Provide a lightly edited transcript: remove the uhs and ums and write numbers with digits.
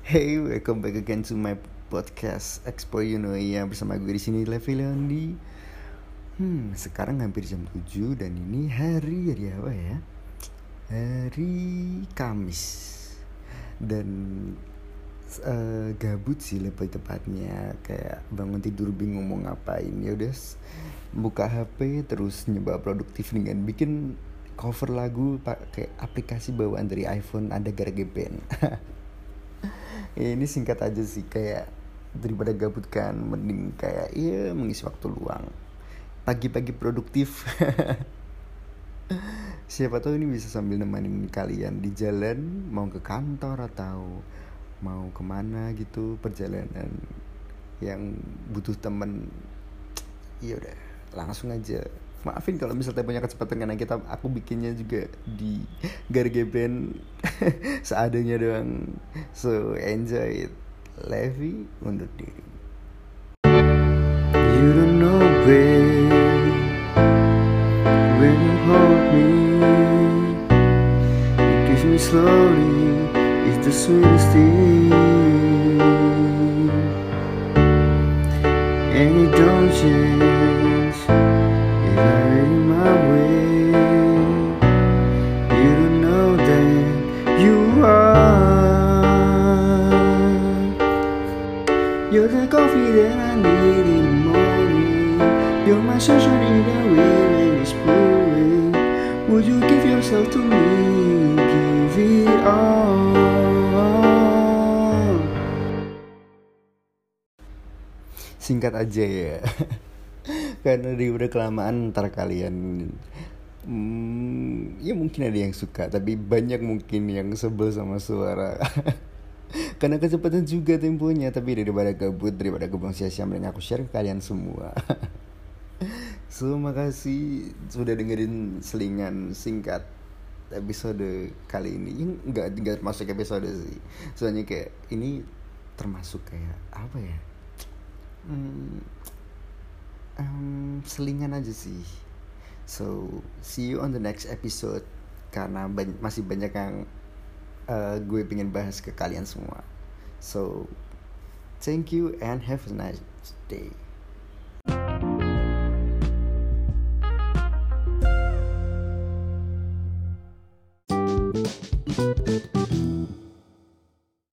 Hey, welcome back again to my podcast Expo Yunoia bersama gue di sini Levi Leondi. Sekarang hampir jam 7 dan ini hari apa ya? Hari Kamis. Dan gabut sih lebih tepatnya, kayak bangun tidur bingung mau ngapain. Ya udah buka HP terus nyoba produktif dengan bikin cover lagu pakai aplikasi bawaan dari iPhone, ada GarageBand. Ya, ini singkat aja sih, kayak daripada gabut kan, mending kayak mengisi waktu luang pagi-pagi produktif. Siapa tahu ini bisa sambil nemenin kalian di jalan mau ke kantor atau mau kemana gitu, perjalanan yang butuh temen. Ya udah, langsung aja. Maafin kalau misalnya punya kecepatan, karena aku bikinnya juga di GarageBand seadanya doang. So enjoy it. Levi undur diri. You don't know when you hold me, you kiss me slowly, it's the sweetest thing, and it don't change. My way, you don't know that you are. You're the coffee that I need in the morning. You're my sunshine in the wind when it's blowing. Would you give yourself to me? Give it all. Singkat aja ya. Karena udah kelamaan ntar kalian ya mungkin ada yang suka, tapi banyak mungkin yang sebel sama suara. Karena kecepatan juga temponya. Tapi daripada gabut, daripada kebuang sia-sia, mending aku share ke kalian semua. So makasih sudah dengerin selingan singkat episode kali ini. Enggak masuk episode sih, soalnya kayak ini termasuk kayak apa ya, selingan aja sih. So see you on the next episode, karena masih banyak yang gue pengen bahas ke kalian semua. So thank you and have a nice day.